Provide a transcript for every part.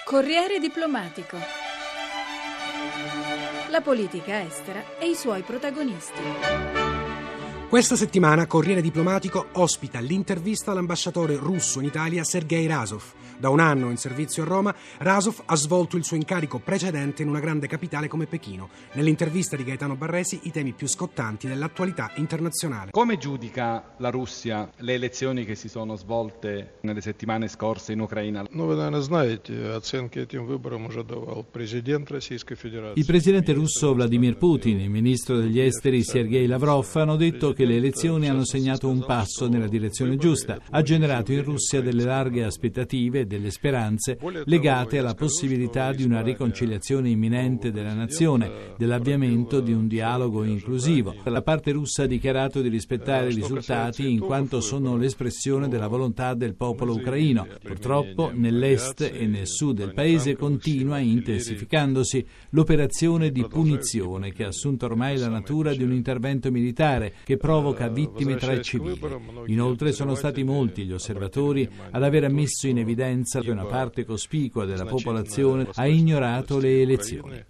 Corriere diplomatico. La politica estera e i suoi protagonisti. Questa settimana Corriere Diplomatico ospita l'intervista all'ambasciatore russo in Italia Sergei Razov. Da un anno in servizio a Roma, Razov ha svolto il suo incarico precedente in una grande capitale come Pechino. Nell'intervista di Gaetano Barresi i temi più scottanti dell'attualità internazionale. Come giudica la Russia le elezioni che si sono svolte nelle settimane scorse in Ucraina? Il presidente russo Vladimir Putin e il ministro degli esteri Sergei Lavrov hanno detto che le elezioni hanno segnato un passo nella direzione giusta. Ha generato in Russia delle larghe aspettative e delle speranze legate alla possibilità di una riconciliazione imminente della nazione, dell'avviamento di un dialogo inclusivo. La parte russa ha dichiarato di rispettare i risultati in quanto sono l'espressione della volontà del popolo ucraino. Purtroppo nell'est e nel sud del paese continua intensificandosi l'operazione di punizione che ha assunto ormai la natura di un intervento militare che provoca vittime tra i civili. Inoltre sono stati molti gli osservatori ad aver messo in evidenza che una parte cospicua della popolazione ha ignorato le elezioni.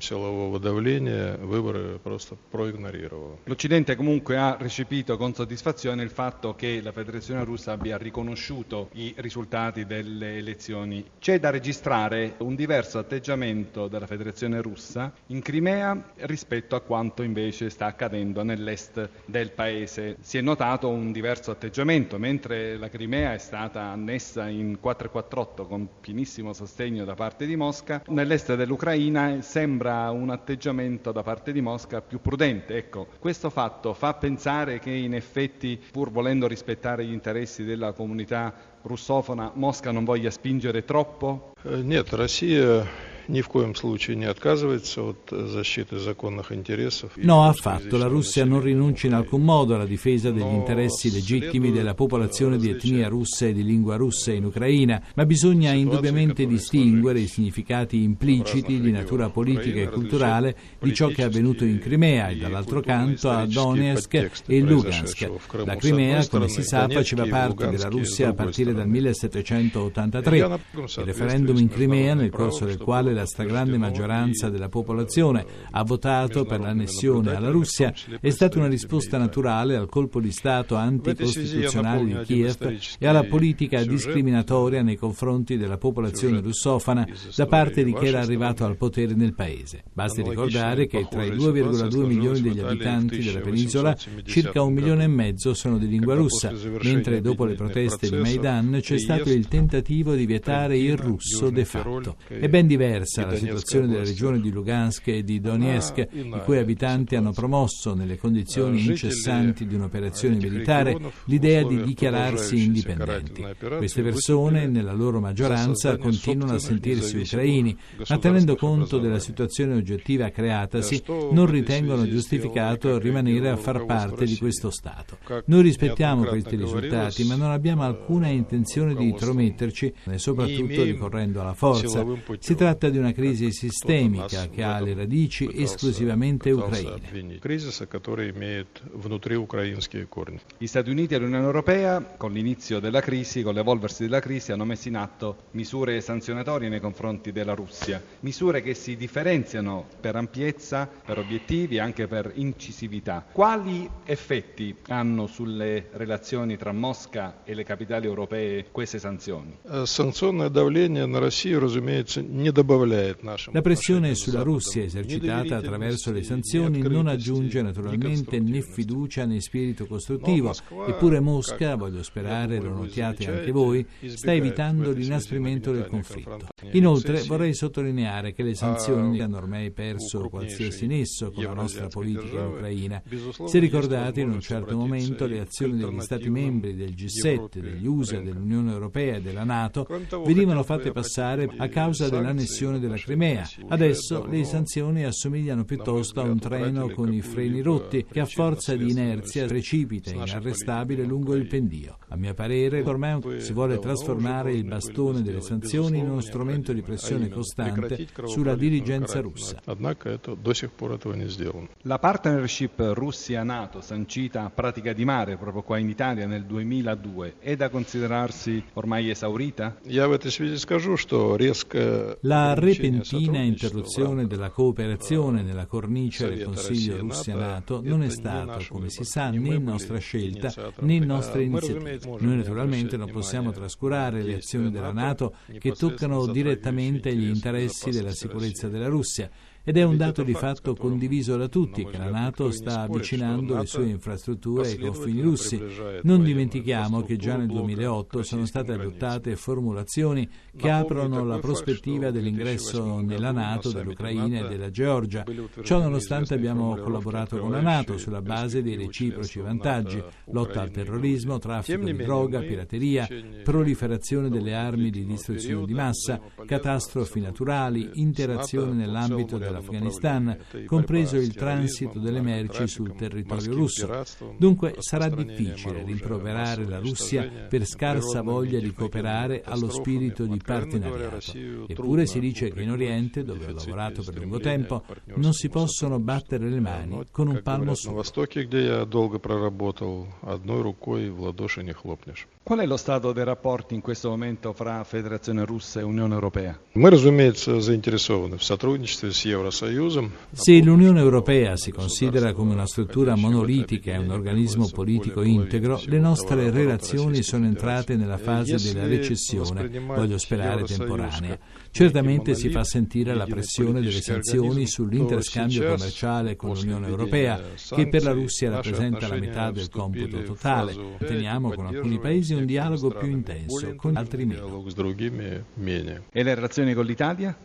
L'Occidente comunque ha recepito con soddisfazione il fatto che la Federazione Russa abbia riconosciuto i risultati delle elezioni. C'è da registrare un diverso atteggiamento della Federazione Russa in Crimea rispetto a quanto invece sta accadendo nell'est del paese. Si è notato un diverso atteggiamento, mentre la Crimea è stata annessa in 448 con pienissimo sostegno da parte di Mosca, nell'est dell'Ucraina sembra un atteggiamento da parte di Mosca più prudente. Ecco, questo fatto fa pensare che in effetti, pur volendo rispettare gli interessi della comunità russofona, Mosca non voglia spingere troppo? Нет, Россия ни в коем случае не отказывается от защиты законных интересов. No, affatto. La Russia non rinuncia in alcun modo alla difesa degli interessi legittimi della popolazione di etnia russa e di lingua russa in Ucraina, ma bisogna indubbiamente distinguere i significati impliciti di natura politica e culturale di ciò che è avvenuto in Crimea e dall'altro canto a Donetsk e Lugansk. La Crimea, come si sa, faceva parte della Russia a partire dal 1783. Il referendum in Crimea, nel corso del quale la stragrande maggioranza della popolazione ha votato per l'annessione alla Russia, è stata una risposta naturale al colpo di Stato anticostituzionale di Kiev e alla politica discriminatoria nei confronti della popolazione russofona da parte di chi era arrivato al potere nel paese. Basti ricordare che tra i 2,2 milioni degli abitanti della penisola, circa 1,5 milioni sono di lingua russa, mentre dopo le proteste di Maidan c'è stato il tentativo di vietare il russo de facto. È ben diversa la situazione delle regioni di Lugansk e di Donetsk, i cui abitanti hanno promosso, nelle condizioni incessanti di un'operazione militare, l'idea di dichiararsi indipendenti. Queste persone, nella loro maggioranza, continuano a sentirsi ucraini, ma tenendo conto della situazione oggettiva creatasi, non ritengono giustificato rimanere a far parte di questo Stato. Noi rispettiamo questi risultati, ma non abbiamo alcuna intenzione di intrometterci, e soprattutto ricorrendo alla forza. Si tratta di una crisi sistemica che ha le radici esclusivamente ucraine. Gli Stati Uniti e l'Unione Europea, con l'inizio della crisi, con l'evolversi della crisi, hanno messo in atto misure sanzionatorie nei confronti della Russia, misure che si differenziano per ampiezza, per obiettivi e anche per incisività. Quali effetti hanno sulle relazioni tra Mosca e le capitali europee queste sanzioni? Санкционное давление на Россию, разумеется, не добавляет. La pressione sulla Russia esercitata attraverso le sanzioni non aggiunge naturalmente né fiducia né spirito costruttivo, eppure Mosca, voglio sperare lo notiate anche voi, sta evitando l'inasprimento del conflitto. Inoltre vorrei sottolineare che le sanzioni hanno ormai perso qualsiasi nesso con la nostra politica in Ucraina. Se ricordate, in un certo momento le azioni degli Stati membri del G7, degli USA, dell'Unione Europea e della NATO venivano fatte passare a causa dell'annessione l'annessione della Crimea. Adesso le sanzioni assomigliano piuttosto a un treno con i freni rotti che a forza di inerzia precipita inarrestabile lungo il pendio. A mio parere, ormai si vuole trasformare il bastone delle sanzioni in uno strumento di pressione costante sulla dirigenza russa. La partnership Russia-NATO, sancita a Pratica di Mare proprio qua in Italia nel 2002, è da considerarsi ormai esaurita? La repentina interruzione della cooperazione nella cornice del Consiglio Russia-NATO non è stato, come si sa, né nostra scelta né nostra iniziativa. Noi naturalmente non possiamo trascurare le azioni della NATO che toccano direttamente gli interessi della sicurezza della Russia. Ed è un dato di fatto condiviso da tutti che la NATO sta avvicinando le sue infrastrutture ai confini russi. Non dimentichiamo che già nel 2008 sono state adottate formulazioni che aprono la prospettiva dell'ingresso nella NATO dell'Ucraina e della Georgia. Ciò nonostante abbiamo collaborato con la NATO sulla base dei reciproci vantaggi: lotta al terrorismo, traffico di droga, pirateria, proliferazione delle armi di distruzione di massa, catastrofi naturali, interazione nell'ambito dell'Afghanistan, compreso il transito delle merci sul territorio russo. Dunque sarà difficile rimproverare la Russia per scarsa voglia di cooperare allo spirito di partenariato. Eppure si dice che in Oriente, dove ho lavorato per lungo tempo, non si possono battere le mani con un palmo solo. Qual è lo stato dei rapporti in questo momento fra Federazione Russa e Unione Europea? Se l'Unione Europea si considera come una struttura monolitica e un organismo politico integro, le nostre relazioni sono entrate nella fase della recessione, voglio sperare temporanea. Certamente si fa sentire la pressione delle sanzioni sull'interscambio commerciale con l'Unione Europea, che per la Russia rappresenta la metà del computo totale. Teniamo con alcuni paesi un dialogo più intenso, con altri meno. E le relazioni con l'Italia?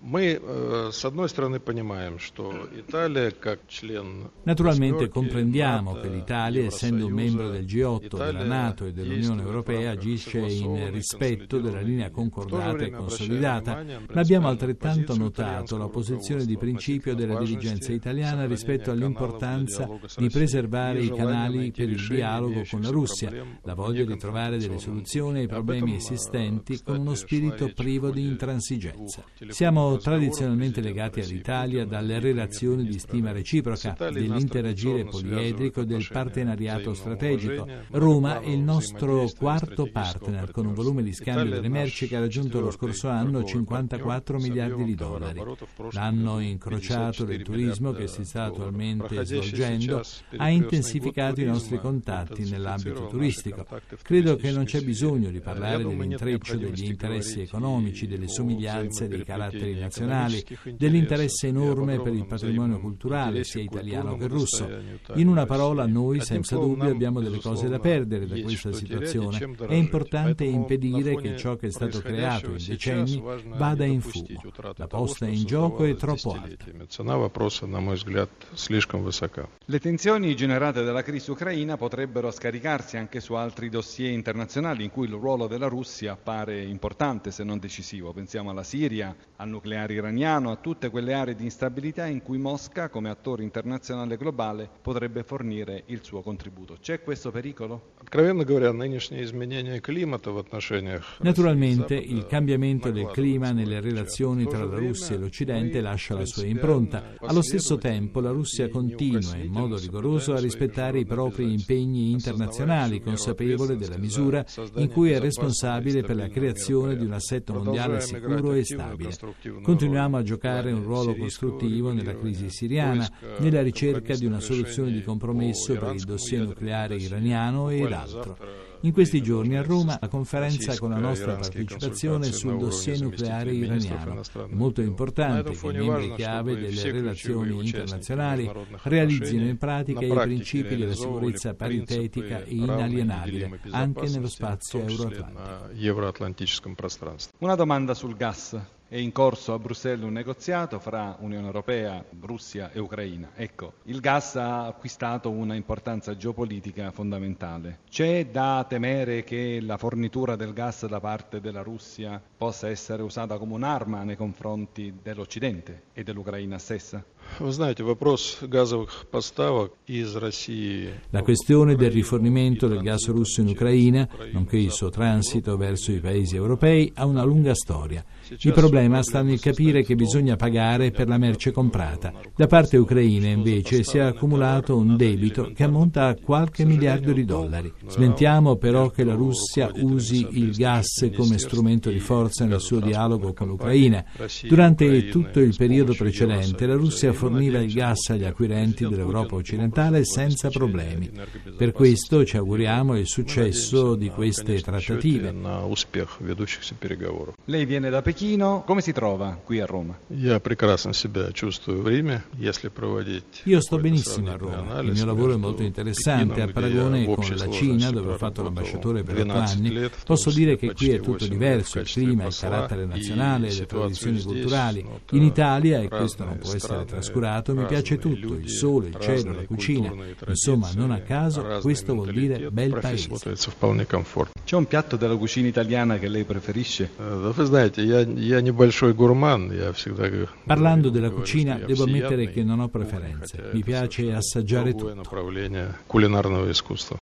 Naturalmente comprendiamo che l'Italia, essendo un membro del G8, della NATO e dell'Unione Europea, agisce in rispetto della linea concordata e consolidata, ma abbiamo altrettanto notato la posizione di principio della dirigenza italiana rispetto all'importanza di preservare i canali per il dialogo con la Russia, la voglia di trovare delle soluzioni ai problemi esistenti con uno spirito privo di intransigenza. Siamo tradizionalmente legati all'Italia dalle relazioni di stima reciproca, dell'interagire poliedrico e del partenariato strategico. Roma è il nostro quarto partner, con un volume di scambio delle merci che ha raggiunto lo scorso anno 54 miliardi di dollari. L'anno incrociato del turismo, che si sta attualmente svolgendo, ha intensificato i nostri contatti nell'ambito turistico. Credo che non c'è bisogno di parlare dell'intreccio degli interessi economici, delle somiglianze dei caratteri nazionali, dell'interesse enorme per il patrimonio culturale, sia italiano che russo. In una parola, noi senza dubbio abbiamo delle cose da perdere da questa situazione. È importante impedire che ciò che è stato creato in decenni vada in fumo. La posta in gioco è troppo alta. Le tensioni generate dalla crisi ucraina potrebbero scaricarsi anche su altri dossier internazionali in cui il ruolo della Russia appare importante, se non decisivo. Pensiamo alla Siria, al nucleare iraniano, a tutte quelle aree di instabilità in cui Mosca, come attore internazionale globale, potrebbe fornire il suo contributo. C'è questo pericolo? Naturalmente il cambiamento del clima nelle relazioni tra la Russia e l'Occidente lascia la sua impronta. Allo stesso tempo la Russia continua in modo rigoroso a rispettare i propri impegni internazionali, consapevole della misura in cui è responsabile per la creazione di un assetto mondiale sicuro e stabile. Continuiamo a giocare un ruolo costruttivo nella crisi siriana, nella ricerca di una soluzione di compromesso per il dossier nucleare iraniano ed altro. In questi giorni a Roma la conferenza con la nostra partecipazione sul dossier nucleare iraniano. È molto importante che i membri chiave delle relazioni internazionali realizzino in pratica i principi della sicurezza paritetica e inalienabile anche nello spazio euroatlantico. Una domanda sul gas. è in corso a Bruxelles un negoziato fra Unione Europea, Russia e Ucraina. Ecco, il gas ha acquistato una importanza geopolitica fondamentale. C'è da temere che la fornitura del gas da parte della Russia possa essere usata come un'arma nei confronti dell'Occidente e dell'Ucraina stessa? Вы знаете, вопрос газовых поставок из России. La questione del rifornimento del gas russo in Ucraina, nonché il suo transito verso i paesi europei, ha una lunga storia. Il problema sta nel capire che bisogna pagare per la merce comprata. Da parte ucraina, invece, si è accumulato un debito che ammonta a qualche miliardo di dollari. Smentiamo però che la Russia usi il gas come strumento di forza nel suo dialogo con l'Ucraina. Durante tutto il periodo precedente, la Russia forniva il gas agli acquirenti dell'Europa occidentale senza problemi. Per questo ci auguriamo il successo di queste trattative. Lei viene da Pechino, come si trova qui a Roma? Io sto benissimo a Roma, il mio lavoro è molto interessante, a paragone con la Cina, dove ho fatto l'ambasciatore per 8 anni, posso dire che qui è tutto diverso, il clima, il carattere nazionale, le tradizioni culturali. In Italia, e questo non può essere trascurato, mi piace tutto, il sole, il cielo, la cucina, insomma, non a caso, questo vuol dire bel paese. C'è un piatto della cucina italiana che lei preferisce? Parlando della cucina, devo ammettere che non ho preferenze. Mi piace assaggiare tutto.